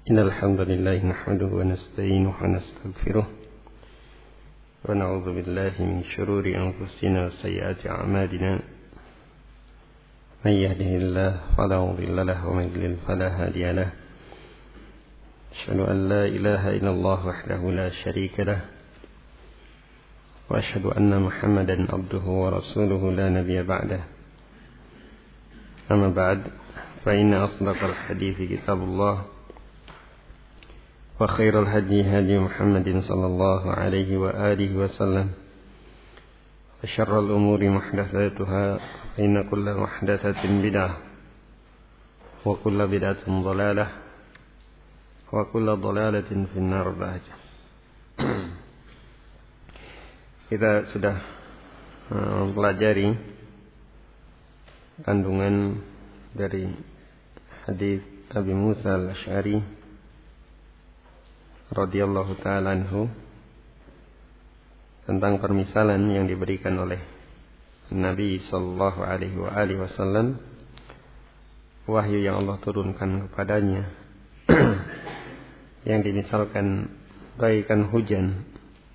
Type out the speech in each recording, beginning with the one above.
إن الحمد لله نحمده ونستعينه ونستغفره ونعوذ بالله من شرور أنفسنا وسيئات أعمالنا من يهده الله فلا مضل له ومن يضلل فلا هادي له أشهد أن لا إله إلا الله وحده لا شريك له وأشهد أن محمدا عبده ورسوله لا نبي بعده أما بعد فإن أصدق الحديث كتاب الله وخير الهدي هدي محمد صلى الله عليه وآله وسلم وشر الأمور محدثاتها فإن كل محدثة بدعة وكل بدعة ضلالة وكل ضلالة في النار بعد. Kita sudah mempelajari kandungan dari hadis Abi Musa al-Asy'ari radhiyallahu ta'ala anhu tentang permisalan yang diberikan oleh Nabi sallallahu alaihi wasallam, wahyu yang Allah turunkan kepadanya yang dimisalkan bagaikan hujan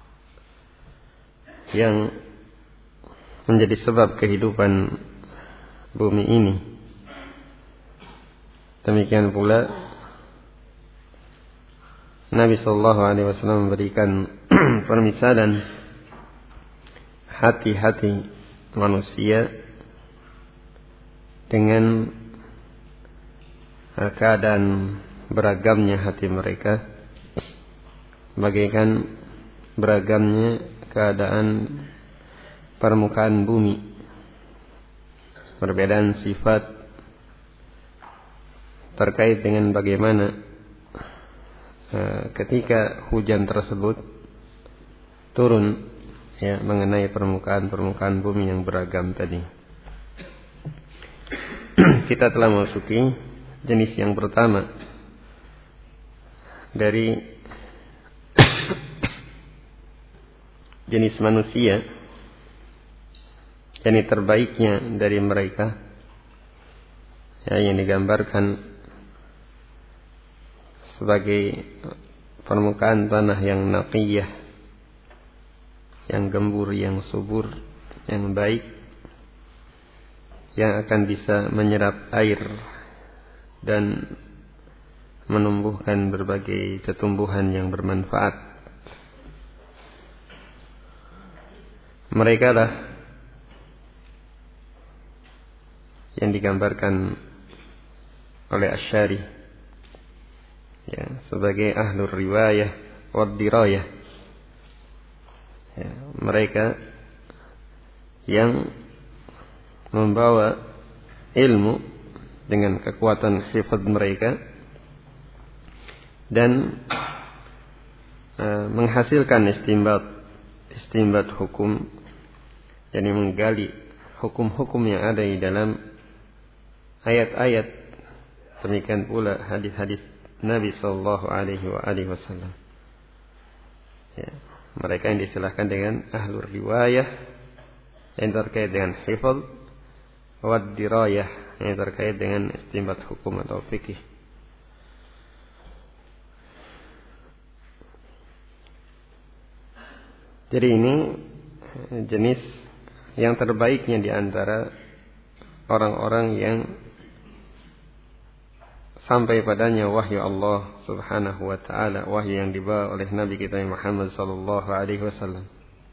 yang menjadi sebab kehidupan bumi ini. Demikian pula Nabi sallallahu alaihi wasallam memberikan permisalan hati-hati manusia dengan keadaan beragamnya hati mereka, bagaikan beragamnya keadaan permukaan bumi, perbedaan sifat terkait dengan bagaimana ketika hujan tersebut turun mengenai permukaan bumi yang beragam tadi. Kita telah memasuki jenis yang pertama dari jenis manusia, yang terbaiknya dari mereka yang digambarkan sebagai permukaan tanah yang naqiyah, yang gembur, yang subur, yang baik, yang akan bisa menyerap air dan menumbuhkan berbagai tumbuhan yang bermanfaat. Mereka lah yang digambarkan oleh Asy'ari sebagai ahlur riwayah wad dirayah, mereka yang membawa ilmu dengan kekuatan hifdz mereka dan menghasilkan istinbat hukum, yakni menggali hukum-hukum yang ada di dalam ayat-ayat, demikian pula hadis-hadis Nabi sallallahu alaihi wasallam. Mereka yang disilahkan dengan ahlur riwayah yang terkait dengan hifdz, wad dirayah yang terkait dengan istinbat hukum atau fikih. Jadi ini jenis yang terbaiknya di antara orang-orang yang sampai padanya wahyu Allah subhanahu wa ta'ala, wahyu yang dibawa oleh Nabi kita Muhammad sallallahu alaihi wasallam.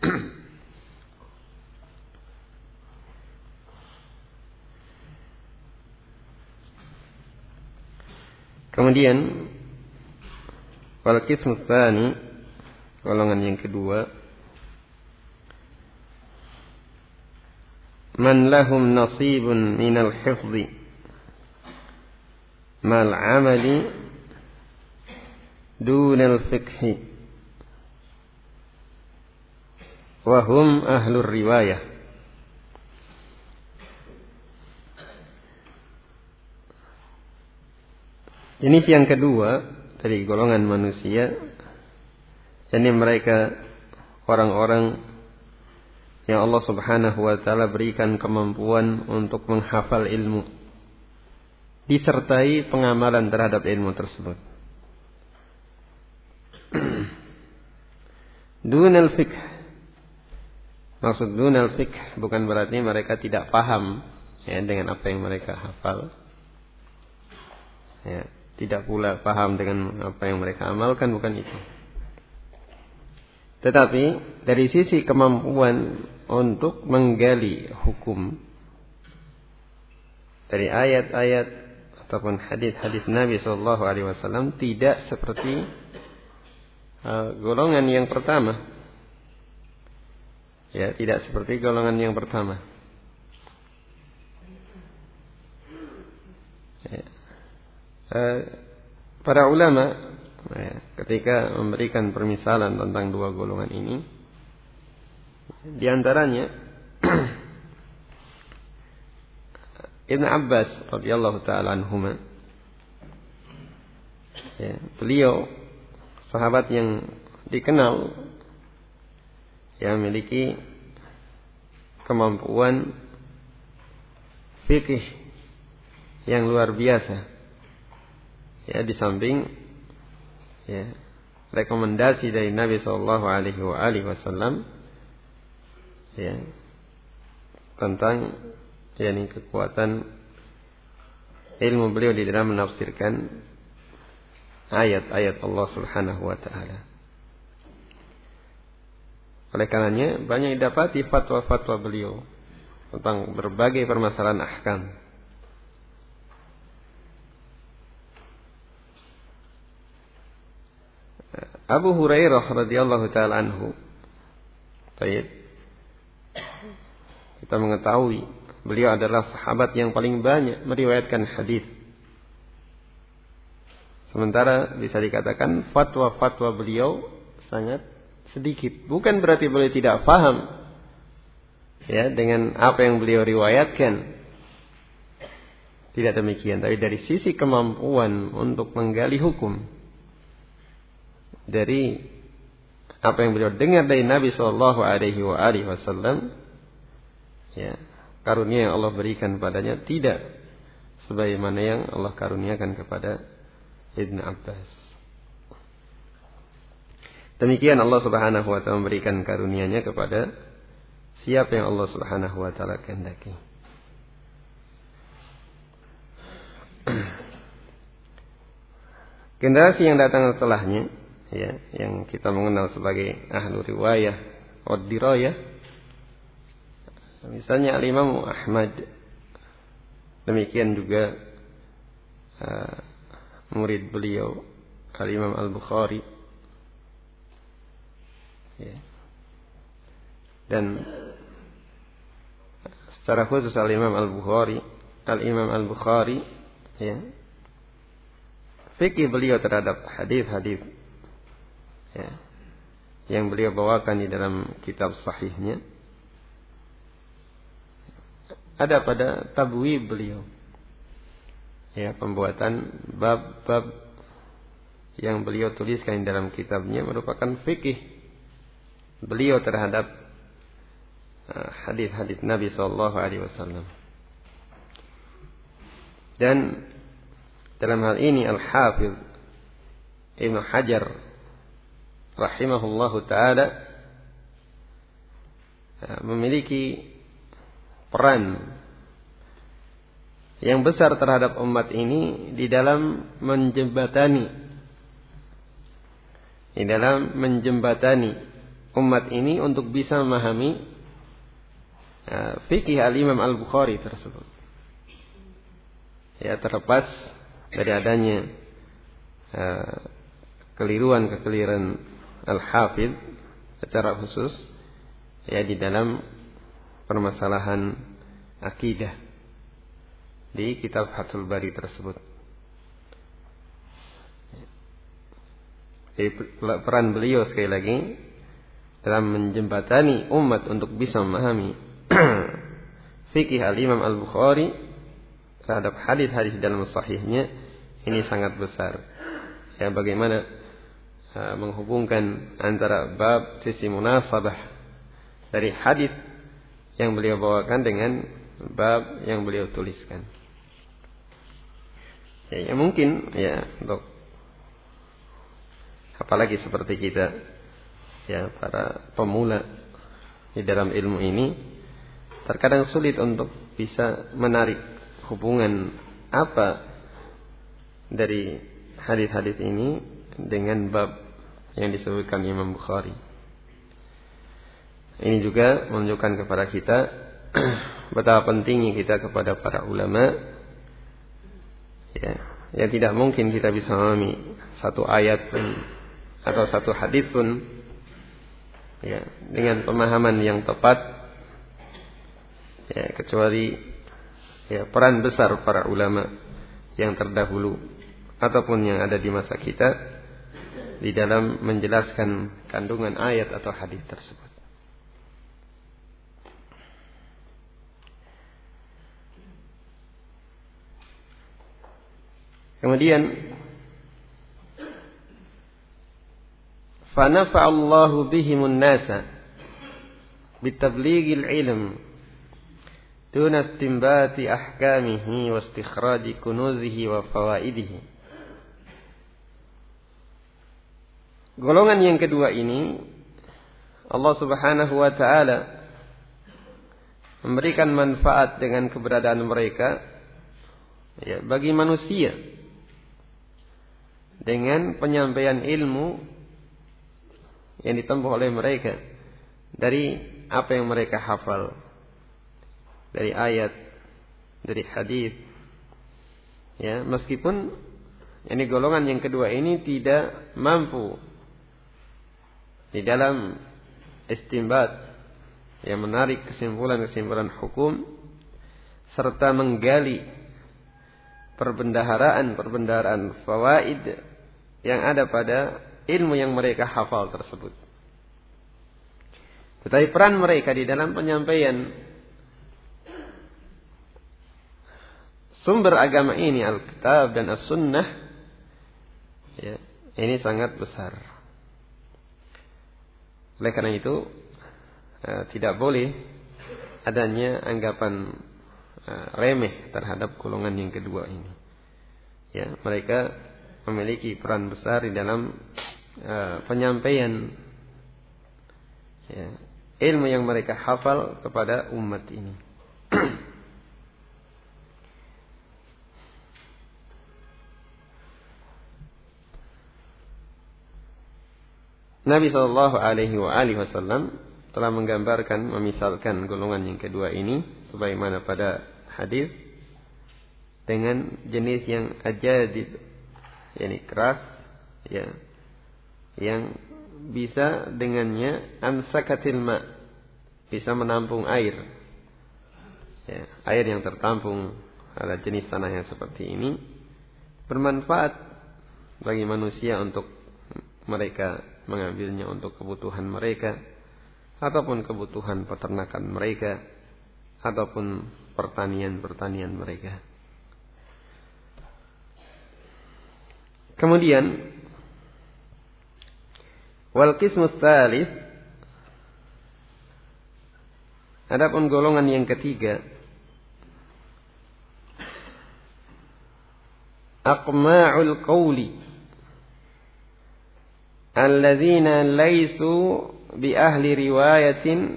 Kemudian wal qismu tsani, golongan yang kedua, man lahum nasibun minal hifdzi mal amali dunal fiqhi wa hum ahlur riwayah. Jenis yang kedua dari golongan manusia, yakni mereka orang-orang yang Allah subhanahu wa ta'ala berikan kemampuan untuk menghafal ilmu disertai pengamalan terhadap ilmu tersebut. Dunal fiqh. Maksud dunal fiqh bukan berarti mereka tidak paham ya dengan apa yang mereka hafal. Ya, tidak pula paham dengan apa yang mereka amalkan, bukan itu. Tetapi dari sisi kemampuan untuk menggali hukum dari ayat-ayat ataupun hadis-hadis Nabi Shallallahu Alaihi Wasallam tidak seperti golongan yang pertama. Ya, tidak seperti golongan yang pertama. Ya. Para ulama ketika memberikan permisalan tentang dua golongan ini, di antaranya Ibn Abbas radhiyallahu taala anhuma, ya, beliau sahabat yang dikenal yang memiliki kemampuan fikih yang luar biasa. Ya, di samping ya, rekomendasi dari Nabi Shallallahu Alaihi Wasallam ya, tentang yakni kekuatan ilmu beliau di dalam menafsirkan ayat-ayat Allah Subhanahu Wa Taala. Oleh karenanya banyak didapati fatwa-fatwa beliau tentang berbagai permasalahan ahkam. Abu Hurairah radhiyallahu taala anhu, baik, kita mengetahui beliau adalah sahabat yang paling banyak meriwayatkan hadis. Sementara bisa dikatakan fatwa-fatwa beliau sangat sedikit. Bukan berarti beliau tidak paham ya dengan apa yang beliau riwayatkan. Tidak demikian, tapi dari sisi kemampuan untuk menggali hukum dari apa yang beliau dengar dari Nabi Shallallahu Alaihi Wasallam, ya, karunia yang Allah berikan padanya tidak sebagaimana yang Allah karuniakan kepada Ibn Abbas. Demikian Allah Subhanahu Wa Taala memberikan karunia-Nya kepada siapa yang Allah Subhanahu Wa Taala kehendaki. Generasi yang datang setelahnya, ya, yang kita mengenal sebagai ahlu riwayah atau dirayah, misalnya Al-Imam Ahmad, demikian juga murid beliau Al-Imam Al-Bukhari, ya. Dan secara khusus Al-Imam Al-Bukhari, ya, fikih beliau terhadap hadis-hadis ya, yang beliau bawakan di dalam kitab sahihnya ada pada tabwib beliau, ya, pembuatan bab-bab yang beliau tuliskan di dalam kitabnya merupakan fikih beliau terhadap hadis-hadis Nabi Sallallahu Alaihi Wasallam. Dan dalam hal ini Al-Hafidh Ibn Hajar rahimahullahu ta'ala memiliki peran yang besar terhadap umat ini di dalam menjembatani umat ini untuk bisa memahami fikih Al-Imam Al-Bukhari tersebut. Ya, terlepas dari adanya kekeliruan Al-Hafidh secara khusus ya di dalam permasalahan akidah di kitab Fathul Bari tersebut. Jadi peran beliau sekali lagi dalam menjembatani umat untuk bisa memahami fikih Al-Imam Al-Bukhari terhadap hadis-hadis dalam sahihnya ini sangat besar. Ya, bagaimana menghubungkan antara bab sisi munasabah dari hadis yang beliau bawakan dengan bab yang beliau tuliskan. Ya mungkin ya untuk apalagi seperti kita ya para pemula di dalam ilmu ini terkadang sulit untuk bisa menarik hubungan apa dari hadis-hadis ini dengan bab yang disebutkan Imam Bukhari. Ini juga menunjukkan kepada kita betapa pentingnya kita kepada para ulama, ya, yang tidak mungkin kita bisa memahami satu ayat pun atau satu hadis pun, ya, dengan pemahaman yang tepat, ya, kecuali ya peran besar para ulama yang terdahulu ataupun yang ada di masa kita di dalam menjelaskan kandungan ayat atau hadis tersebut. Kemudian fanafa'allahu bihimun nasa bitablighil ilm duna istinbati ahkamihi wa istikhraji kunuzihi wa fawaidihi. Golongan yang kedua ini Allah Subhanahu wa taala memberikan manfaat dengan keberadaan mereka, ya, bagi manusia dengan penyampaian ilmu yang ditempuh oleh mereka dari apa yang mereka hafal, dari ayat, dari hadis. Ya, meskipun ini golongan yang kedua ini tidak mampu di dalam istinbat, yang menarik kesimpulan-kesimpulan hukum serta menggali perbendaharaan fawaid yang ada pada ilmu yang mereka hafal tersebut. Tetapi peran mereka di dalam penyampaian sumber agama ini, Alkitab dan As-Sunnah, ya, ini sangat besar. Oleh karena itu tidak boleh adanya anggapan remeh terhadap golongan yang kedua ini. Ya, mereka memiliki peran besar di dalam penyampaian, ya, ilmu yang mereka hafal kepada umat ini. Nabi SAW telah menggambarkan, memisalkan golongan yang kedua ini sebagaimana pada hadis dengan jenis yang ajadid, yakni keras, ya, yang bisa dengannya amsakatil ma, bisa menampung air, ya, air yang tertampung pada jenis tanah yang seperti ini bermanfaat bagi manusia untuk mereka mengambilnya untuk kebutuhan mereka ataupun kebutuhan peternakan mereka ataupun pertanian mereka. Kemudian wal qismus tsalits, adapun golongan yang ketiga, aqma'ul qawli alladzina laisu bi ahli riwayatin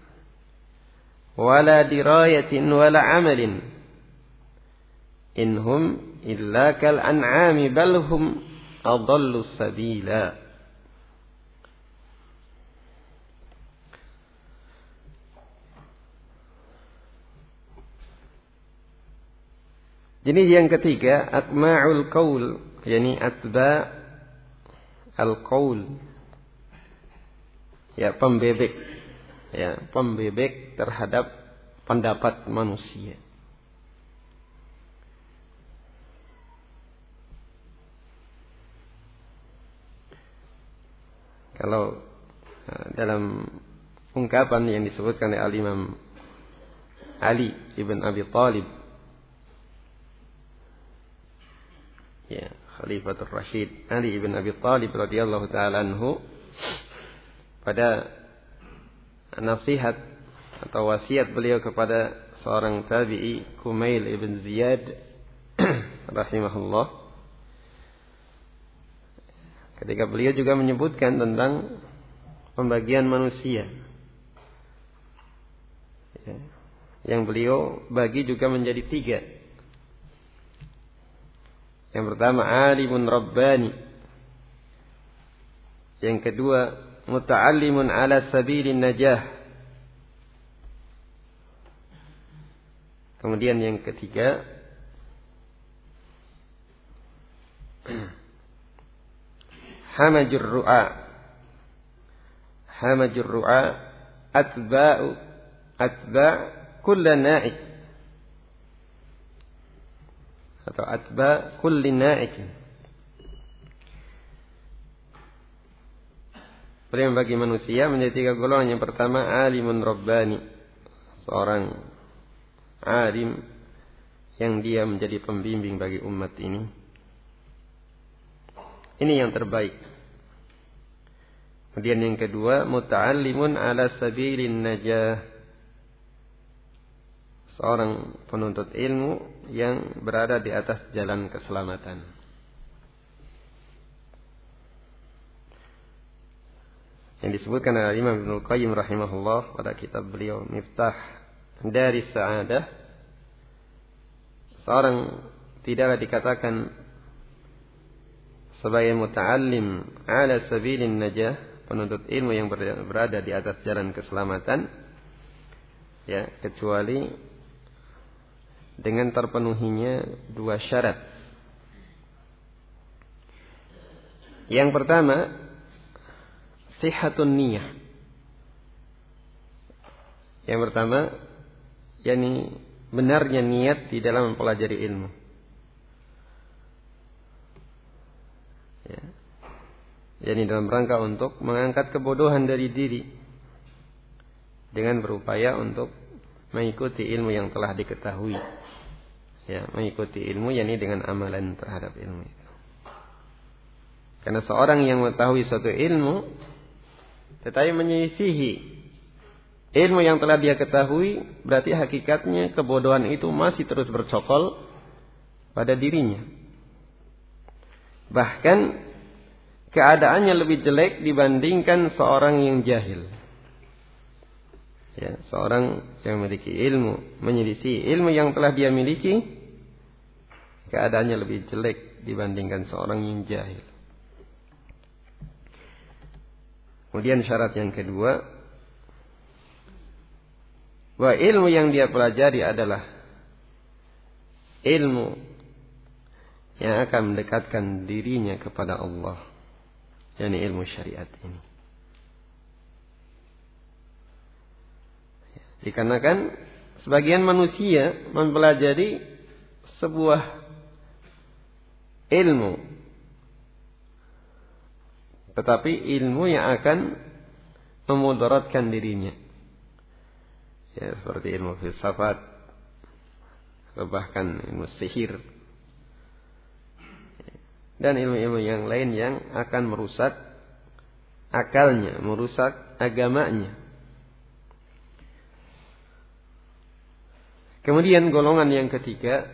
wala dirayatin wala amalin inhum illa kal an'ami bal hum adallu sabila. Jenis yang ketiga, aqma'ul qaul, yakni atba' al-qaul, ya, pembebek, ya, pembebek terhadap pendapat manusia. Kalau dalam ungkapan yang disebutkan oleh Al-Imam Ali ibn Abi Thalib, ya, Khalifatul Rashid Ali ibn Abi Thalib radhiyallahu taala anhu, pada nasihat atau wasiat beliau kepada seorang tabi'i Kumail ibn Ziyad rahimahullah, ketika beliau juga menyebutkan tentang pembagian manusia. Ya. Yang beliau bagi juga menjadi 3. Yang pertama alimun rabbani. Yang kedua muta'allimun ala sabilin najah. Kemudian yang ketiga hamajur ru'a. Hamajur ru'a atba' kulla na'ik atau atba' kulli na'ik. Beliau membagi manusia menjadi 3 golongan. Yang pertama alimun rabbani, seorang alim yang dia menjadi pembimbing bagi umat ini. Ini yang terbaik. Kemudian yang kedua muta'allimun ala sabilin najah, seorang penuntut ilmu yang berada di atas jalan keselamatan. Yang disebutkan oleh Imam Ibnul Qayyim rahimahullah pada kitab beliau Miftah Daris Sa'adah, seorang tidaklah dikatakan sebagai muta'allim ala sabilin najah, penuntut ilmu yang berada di atas jalan keselamatan, ya, kecuali dengan terpenuhinya 2 syarat. Yang pertama sihhatun niyah. Yang pertama yakni benarnya niat di dalam mempelajari ilmu. Ya. Yakni dalam rangka untuk mengangkat kebodohan dari diri dengan berupaya untuk mengikuti ilmu yang telah diketahui. Ya, mengikuti ilmu yakni dengan amalan terhadap ilmu itu. Karena seorang yang mengetahui suatu ilmu tetapi menyisihi ilmu yang telah dia ketahui, berarti hakikatnya kebodohan itu masih terus bercokol pada dirinya. Bahkan keadaannya lebih jelek dibandingkan seorang yang jahil. Ya, seorang yang memiliki ilmu menyelisih ilmu yang telah dia miliki, keadaannya lebih jelek dibandingkan seorang yang jahil. Kemudian syarat yang kedua, bahwa ilmu yang dia pelajari adalah ilmu yang akan mendekatkan dirinya kepada Allah, yakni ilmu syariat ini. Dikarenakan sebagian manusia mempelajari sebuah ilmu, tetapi ilmu yang akan memudaratkan dirinya. Ya, seperti ilmu filsafat, atau bahkan ilmu sihir, dan ilmu-ilmu yang lain yang akan merusak akalnya, merusak agamanya. Kemudian golongan yang ketiga,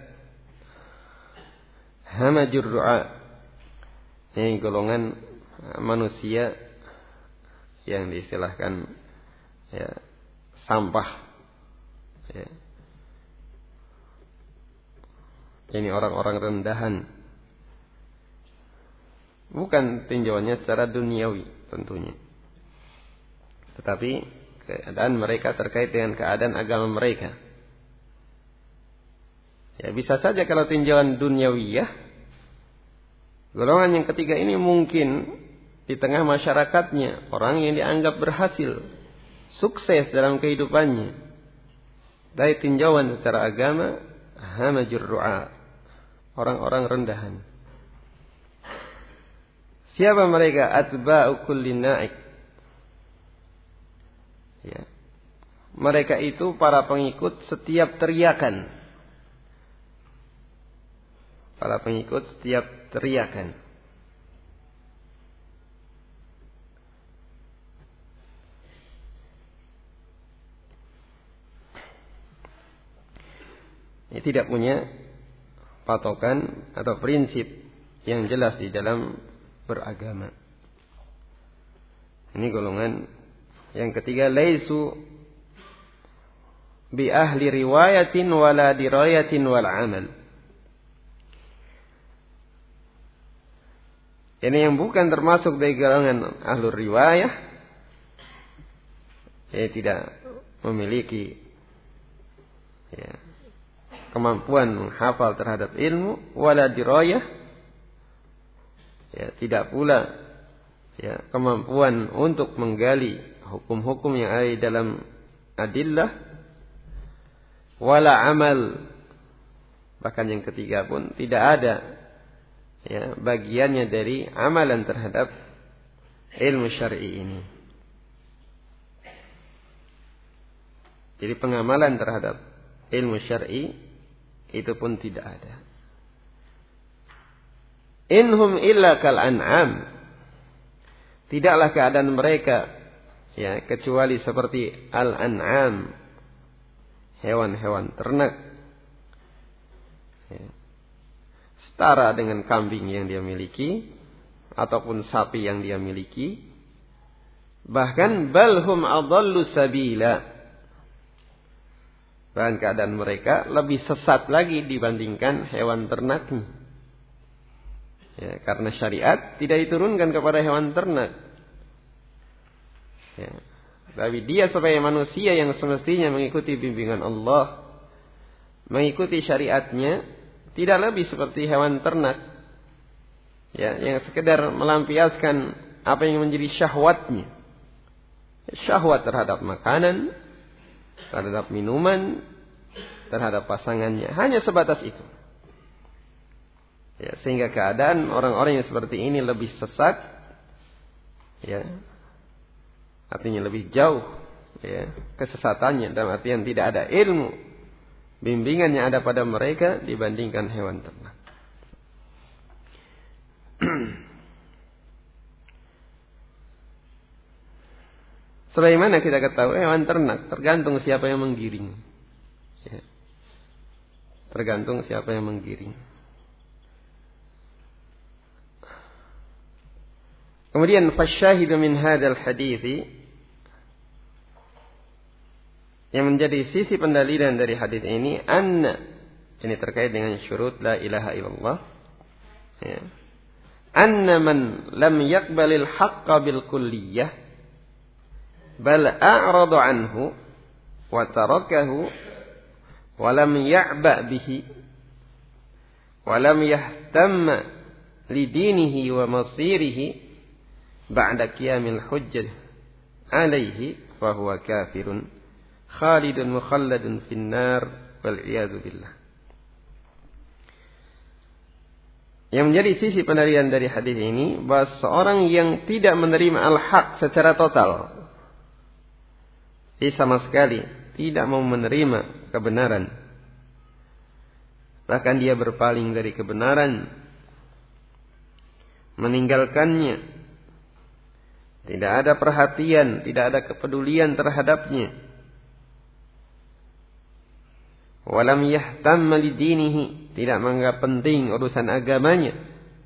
hamajur ru'a, ini golongan manusia yang diistilahkan ya, sampah. Ya. Ini orang-orang rendahan. Bukan tinjauannya secara duniawi tentunya, tetapi keadaan mereka terkait dengan keadaan agama mereka. Ya, bisa saja kalau tinjauan duniawiyah, golongan yang ketiga ini mungkin di tengah masyarakatnya orang yang dianggap berhasil, sukses dalam kehidupannya. Dari tinjauan secara agama, hamajur ru'a, orang-orang rendahan. Siapa mereka? Atba'u kulli na'ik. Ya. Mereka itu para pengikut setiap teriakan. Para pengikut setiap teriakan. Ini tidak punya patokan atau prinsip yang jelas di dalam beragama. Ini golongan yang ketiga, laisu bi ahli riwayatin wala dirayatin wal amal. Ini yang bukan termasuk dari golongan ahlul riwayah, tidak memiliki kemampuan menghafal terhadap ilmu, wala dirayah, tidak pula kemampuan untuk menggali hukum-hukum yang ada di dalam adillah, wala amal, bahkan yang ketiga pun tidak ada bagiannya dari amalan terhadap ilmu syar'i ini. Jadi pengamalan terhadap ilmu syar'i itu pun tidak ada. Inhum illa kal an'am. Tidaklah keadaan mereka kecuali seperti al-an'am, hewan-hewan ternak. Setara dengan kambing yang dia miliki ataupun sapi yang dia miliki. Bahkan balhum adallu sabila. Bahkan keadaan mereka lebih sesat lagi dibandingkan hewan ternaknya. Karena syariat tidak diturunkan kepada hewan ternak. Tapi dia sebagai manusia yang semestinya mengikuti bimbingan Allah, mengikuti syariatnya, tidak lebih seperti hewan ternak yang sekedar melampiaskan apa yang menjadi syahwatnya. Syahwat terhadap makanan, terhadap minuman, terhadap pasangannya. Hanya sebatas itu. Sehingga keadaan orang-orang yang seperti ini lebih sesat. Artinya lebih jauh kesesatannya, dalam artian tidak ada ilmu bimbingan yang ada pada mereka dibandingkan hewan ternak. Sebagaimana kita ketahui, hewan ternak tergantung siapa yang menggiring. Tergantung siapa yang menggiring. Kemudian fasyahidu min hadzal hadithi, yang menjadi sisi pendalilan dari hadis ini, ini terkait dengan syurut la ilaha illallah, anna man lam yaqbalil haqqa bil kulliyah bal a'rada anhu wa tarakahu wa lam ya'ba bihi wa lam yahtamma li dinihi wa masirihi ba'da qiyamil hujjah alaihi fa huwa kafirun khalidun mukhalladun finnar wal iyadu billah. Yang menjadi sisi pendalilan dari hadis ini, bahwa seorang yang tidak menerima al-haq secara total, dia sama sekali tidak mau menerima kebenaran, bahkan dia berpaling dari kebenaran, meninggalkannya, tidak ada perhatian, tidak ada kepedulian terhadapnya. Walam yahtamma lidinihi, tidak menganggap penting urusan agamanya.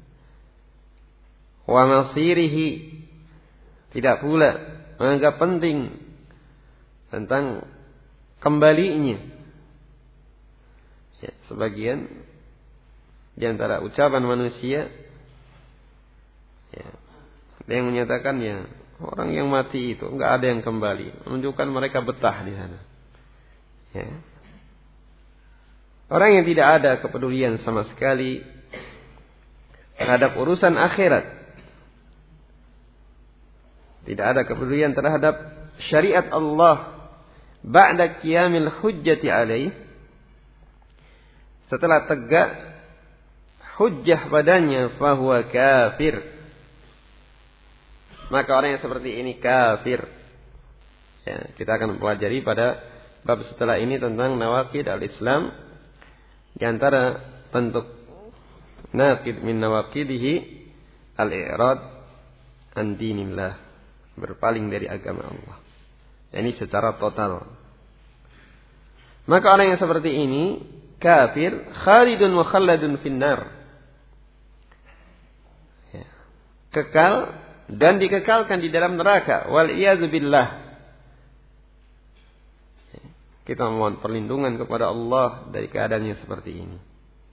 Wa masirihi, tidak pula menganggap penting tentang kembalinya. Sebagian di antara ucapan manusia, ada yang menyatakan orang yang mati itu enggak ada yang kembali, menunjukkan mereka betah di sana. Orang yang tidak ada kepedulian sama sekali terhadap urusan akhirat, tidak ada kepedulian terhadap syariat Allah ba'da qiyamil hujjati alaih, setelah tegak hujjah padanya, fahuwa kafir, maka orang yang seperti ini kafir. Kita akan mempelajari pada bab setelah ini tentang nawaqid al-Islam. Di antara bentuk naqid min nawaqidihi al-i'rad an dinillah, berpaling dari agama Allah. Ini secara total. Maka orang yang seperti ini kafir, khalidun mukhalladun finnar. Kekal dan dikekalkan di dalam neraka. Wal iyadzu billah. Kita mohon perlindungan kepada Allah dari keadaan yang seperti ini.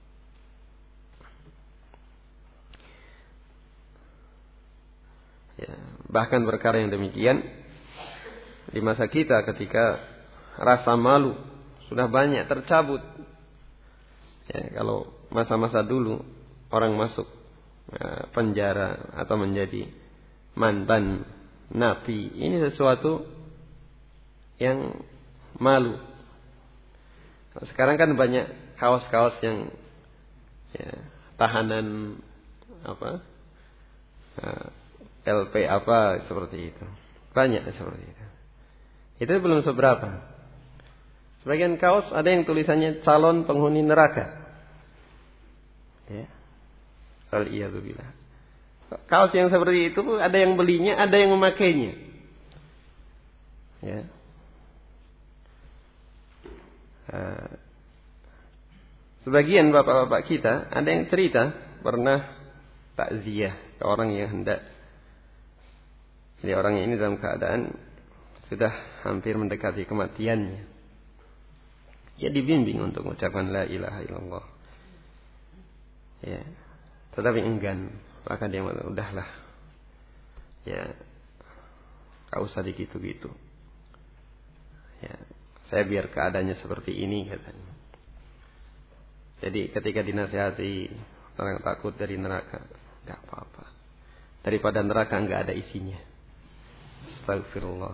Ya, bahkan perkara yang demikian di masa kita ketika rasa malu sudah banyak tercabut. Ya, kalau masa-masa dulu orang masuk penjara atau menjadi mantan napi, ini sesuatu yang malu. Sekarang kan banyak kaos-kaos yang tahanan LP seperti itu. Banyak seperti itu. Itu belum seberapa. Sebagian kaos ada yang tulisannya calon penghuni neraka. Ya. Al-iyadzubillah. Kaos yang seperti itu ada yang belinya, ada yang memakainya. Ya. Sebagian bapak-bapak kita ada yang cerita pernah takziah ke orang yang hendak. Jadi orang ini dalam keadaan sudah hampir mendekati kematiannya. Ya dibimbing untuk mengucapkan la ilaha illallah. Ya. Tetapi enggan, maka dia mengatakan udahlah. Ya. Enggak usah digitu-gitu. Ya. Saya biar keadaannya seperti ini katanya. Jadi ketika dinasihati orang takut dari neraka, enggak apa-apa. Daripada neraka enggak ada isinya. Astagfirullah.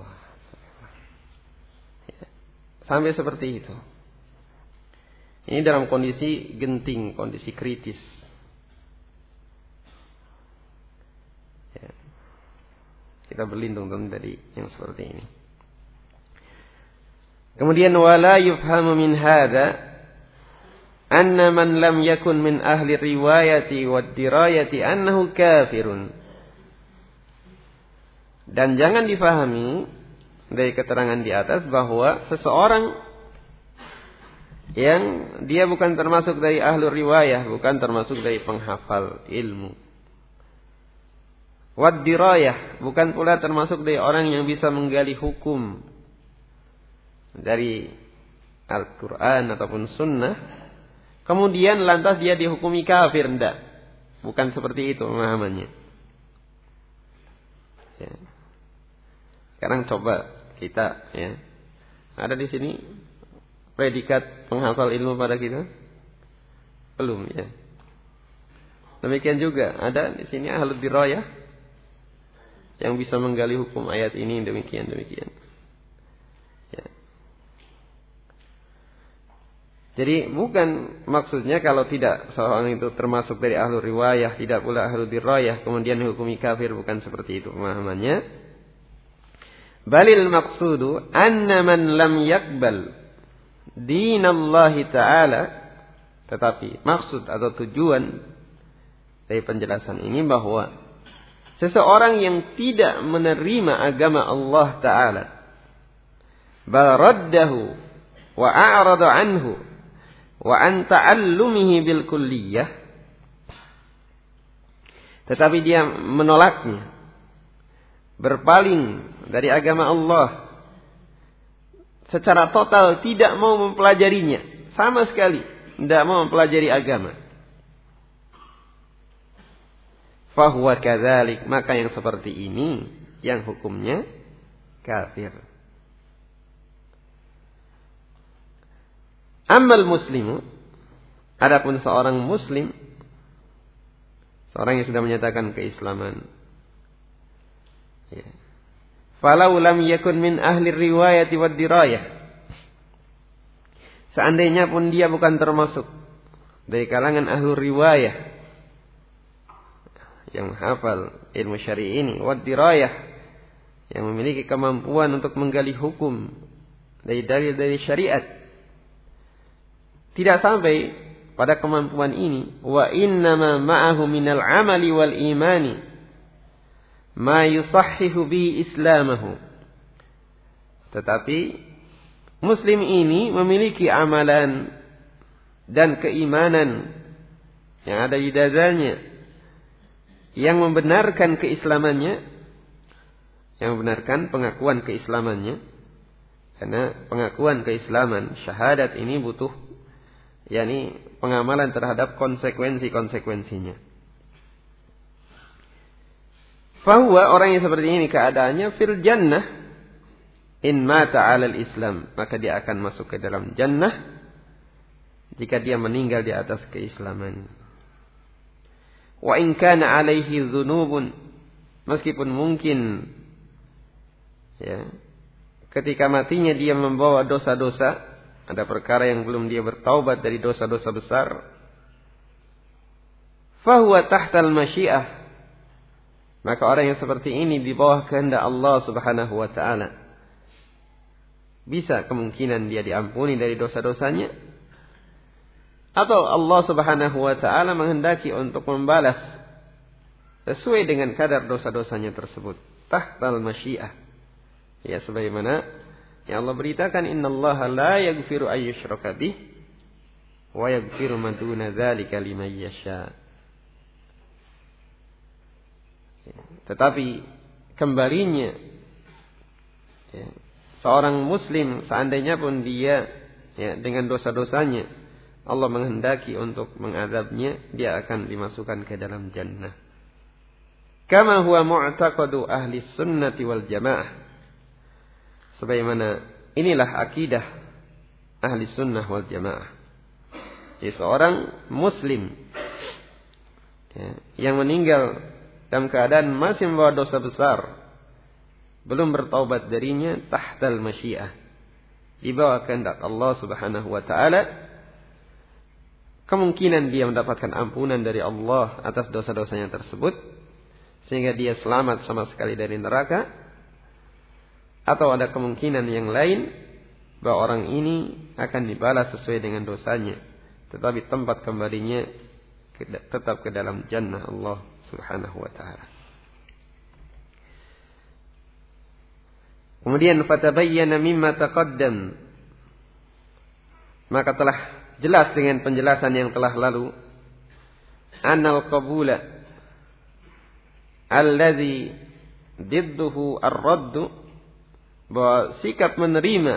Ya. Sampai seperti itu. Ini dalam kondisi genting, kondisi kritis. Ya. Kita berlindung dari yang seperti ini. Kemudian wala yufhamu min hadza anna man lam yakun min ahli riwayati wad dirayati annahu kafirun. Dan jangan difahami dari keterangan di atas bahwa seseorang yang dia bukan termasuk dari ahli riwayah, bukan termasuk dari penghafal ilmu. Wad dirayah, bukan pula termasuk dari orang yang bisa menggali hukum dari Al-Quran ataupun Sunnah, kemudian lantas dia dihukumi kafir, enggak. Bukan seperti itu pemahamannya. Ya. Sekarang coba kita, ya, ada di sini predikat penghafal ilmu pada kita? Belum, ya. Demikian juga ada di sini ahlul dirayah yang bisa menggali hukum ayat ini demikian. Ya. Jadi bukan maksudnya kalau tidak seorang itu termasuk dari ahlu riwayah, tidak pula ahlu dirayah, kemudian dihukumi kafir, bukan seperti itu pemahamannya. Balil maqsudu anna man lam yakbal dinallahi ta'ala, tetapi maksud atau tujuan dari penjelasan ini bahwa seseorang yang tidak menerima agama Allah Ta'ala, bal raddahu wa a'rada anhu wa an ta'allumihi bil kulliyah, tetapi dia menolaknya, berpaling dari agama Allah secara total, tidak mau mempelajarinya sama sekali, tidak mau mempelajari agama, fahuwa kadzalik, maka yang seperti ini yang hukumnya kafir. Ammal muslimu, adapun seorang muslim, seorang yang sudah menyatakan keislaman, ya, falau lam yakun min ahli riwayati wad dirayah, seandainya pun dia bukan termasuk dari kalangan ahli riwayah yang hafal ilmu syar'i ini, wad dirayah, yang memiliki kemampuan untuk menggali hukum dari dalil dari syariat, tidak sampai pada kemampuan ini, wa innama ma'ahu minal amali wal imani ma yusahhihu bi islamahu, tetapi muslim ini memiliki amalan dan keimanan yang ada di dadanya yang membenarkan keislamannya, yang membenarkan pengakuan keislamannya, karena pengakuan keislaman, syahadat ini butuh yakni pengamalan terhadap konsekuensi-konsekuensinya. Fahuwa, orang yang seperti ini keadaannya fil jannah in mata 'alal Islam, maka dia akan masuk ke dalam jannah jika dia meninggal di atas keislaman. Wa in kana 'alaihi dzunubun, meskipun mungkin ya ketika matinya dia membawa dosa-dosa, ada perkara yang belum dia bertaubat dari dosa-dosa besar, fahuwa tahtal masyiah, maka orang yang seperti ini di bawah kehendak Allah Subhanahu wa taala. Bisa kemungkinan dia diampuni dari dosa-dosanya, atau Allah Subhanahu wa taala menghendaki untuk membalas sesuai dengan kadar dosa-dosanya tersebut. Tahtal masyiah. Ya, sebagaimana yang Allah beritakan, innallaha la yaghfiru ayyushraka bih wa yaghfiru ma duna dzalika liman yasha. Tetapi kembalinya ya, seorang muslim seandainya pun dia ya, dengan dosa-dosanya Allah menghendaki untuk mengazabnya, dia akan dimasukkan ke dalam jannah. Kama huwa mu'taqadu ahli sunnati wal jamaah. Sebagaimana inilah akidah ahli sunnah wal jamaah. Jadi seorang muslim ya, yang meninggal dalam keadaan masih membawa dosa besar, belum bertaubat darinya, tahtal masyiah, di bawah kehendak Allah Subhanahu wa taala, kemungkinan dia mendapatkan ampunan dari Allah atas dosa-dosanya tersebut sehingga dia selamat sama sekali dari neraka, atau ada kemungkinan yang lain bahwa orang ini akan dibalas sesuai dengan dosanya, tetapi tempat kembalinya tetap ke dalam jannah Allah Subhanahu wa ta'ala. Kemudian fatabayyana mimma taqaddam, maka telah jelas dengan penjelasan yang telah lalu, annal qabula alladhi didduhu ar-radd, bahwa sikap menerima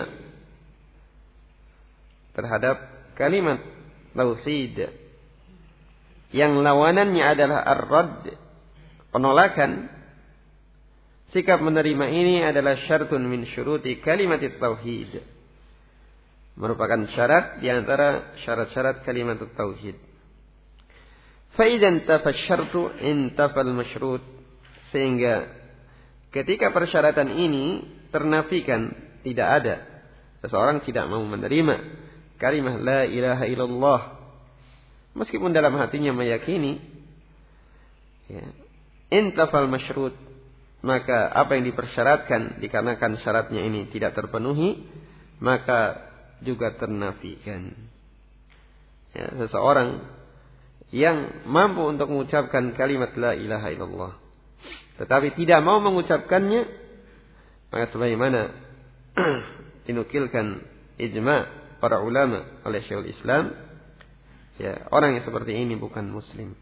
terhadap kalimat tauhid yang lawanannya adalah ar-radd, penolakan, sikap menerima ini adalah syartun min syuruti kalimat tauhid, merupakan syarat di antara syarat-syarat kalimat tauhid. Fa idzan tafa syartu intafa al-masyrut, sehingga ketika persyaratan ini ternafikan, tidak ada, seseorang tidak mau menerima kalimat la ilaha illallah meskipun dalam hatinya meyakini, ya, intafal masyrut, maka apa yang dipersyaratkan dikarenakan syaratnya ini tidak terpenuhi, maka juga ternafikan. Ya, seseorang yang mampu untuk mengucapkan kalimat la ilaha illallah tetapi tidak mau mengucapkannya, maka sebagaimana dinukilkan ijma' para ulama oleh Syekhul Islam, ya, orang yang seperti ini bukan muslim.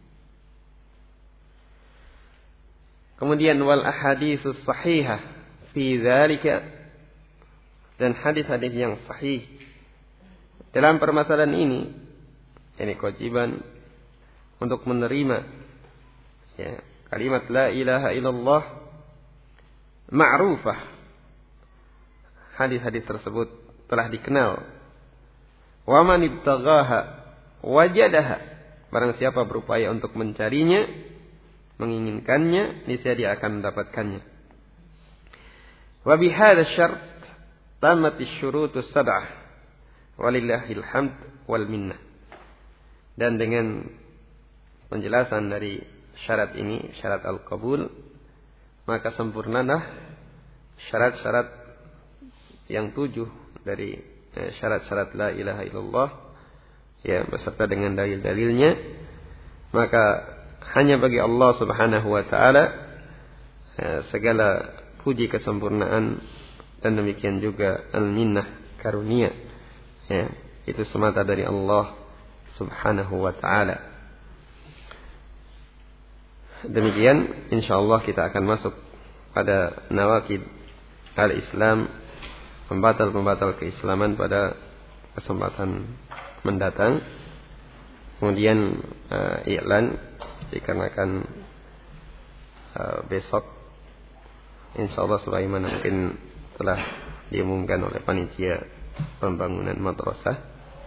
Kemudian wal ahaditsus sahihah fi dzalika, dan hadis-hadis yang sahih dalam permasalahan ini kewajiban untuk menerima, ya, kalimat la ilaha illallah ma'rufah. Hadis-hadis tersebut telah dikenal. Wa man ibtaghaha wajadaha, barang siapa berupaya untuk mencarinya, menginginkannya, niscaya dia akan mendapatkannya. Wa bihadza syart tamat asy-syurutus sab'ah walillahil hamd wal minnah. Dan dengan penjelasan dari syarat ini, syarat al-qabul, maka sempurnalah syarat-syarat yang 7 dari syarat-syarat la ilaha illallah, ya, beserta dengan dalil-dalilnya. Maka hanya bagi Allah Subhanahu wa taala segala puji kesempurnaan, dan demikian juga al-minnah, karunia, ya, itu semata dari Allah Subhanahu wa taala. Demikian insyaallah kita akan masuk pada nawaqid al-Islam, pembatal-pembatal keislaman pada kesempatan mendatang. Kemudian iklan dikarenakan besok insyaallah sebagaimana mungkin telah diumumkan oleh panitia pembangunan madrasah,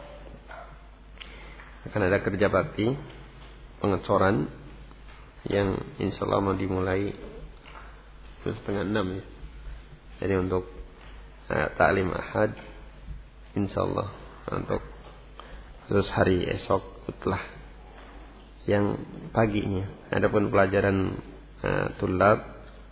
akan ada kerja bakti pengecoran yang insyaallah mau dimulai 5:30 ya. Jadi untuk taklim ahad insyaallah untuk terus hari esok setelah yang paginya. Adapun pelajaran tulab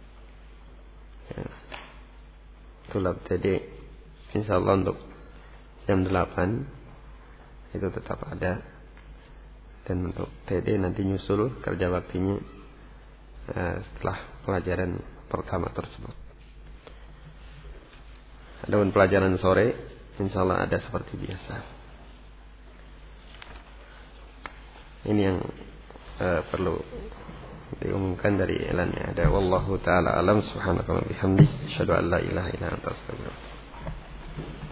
TD insyaallah untuk jam 8 itu tetap ada, dan untuk TD nanti nyusul kerja baktinya setelah pelajaran pertama tersebut. Adapun pelajaran sore insyaallah ada seperti biasa. Ini yang perlu diumumkan dari elannya. Ada wallahu taala alam, subhanaka wa bihamdik, asyhadu an la ilaha illa anta astaghfiruka.